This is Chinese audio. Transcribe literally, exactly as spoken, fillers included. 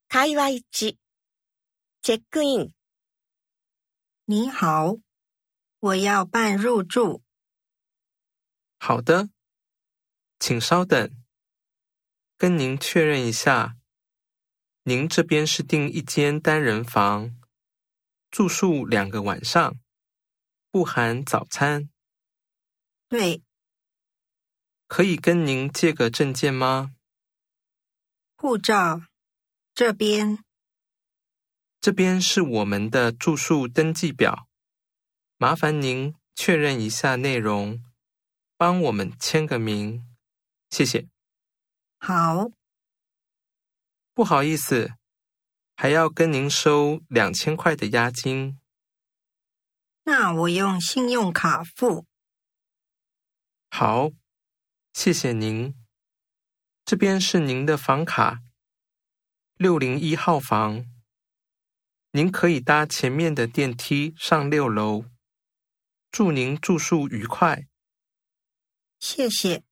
会話一、チェックイン。 你好，我要办入住。 好的，请稍等，跟您确认一下，您这边是订一间单人房，住宿两个晚上，不含早餐。 对， 可以跟您借个证件吗？ 护照，这边。 这边是我们的住宿登记表，麻烦您确认一下内容，帮我们签个名，谢谢。 好。 不好意思，还要跟您收两千块的押金。 那我用信用卡付。 好，谢谢您。这边是您的房卡，六零一号房。您可以搭前面的电梯上六楼。祝您住宿愉快。 谢谢。